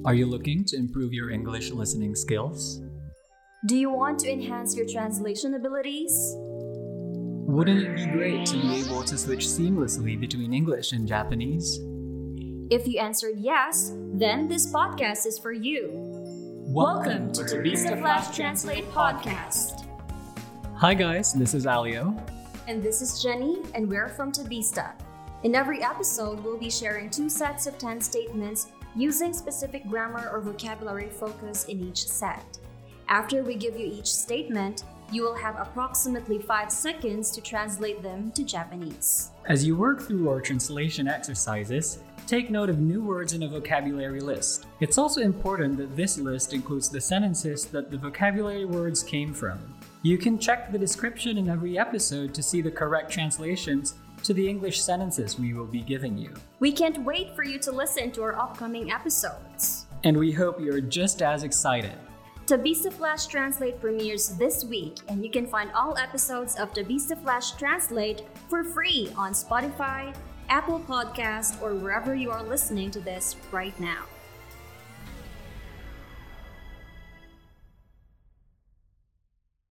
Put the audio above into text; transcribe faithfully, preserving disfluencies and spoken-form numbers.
Are you looking to improve your English listening skills? Do you want to enhance your translation abilities? Wouldn't it be great to be able to switch seamlessly between English and Japanese? If you answered yes, then this podcast is for you. Welcome to Tabista Flash Translate Podcast. Hi guys, this is Alio. And this is Jenny, and we're from Tabista. In every episode, we'll be sharing two sets of ten statements using specific grammar or vocabulary focus in each set. After we give you each statement, you will have approximately five seconds to translate them to Japanese. As you work through our translation exercises, take note of new words in a vocabulary list. It's also important that this list includes the sentences that the vocabulary words came from. You can check the description in every episode to see the correct translations to the English sentences we will be giving you. We can't wait for you to listen to our upcoming episodes. And we hope you're just as excited. Tabista Flash Translate premieres this week, and you can find all episodes of Tabista Flash Translate for free on Spotify, Apple Podcast, or wherever you are listening to this right now.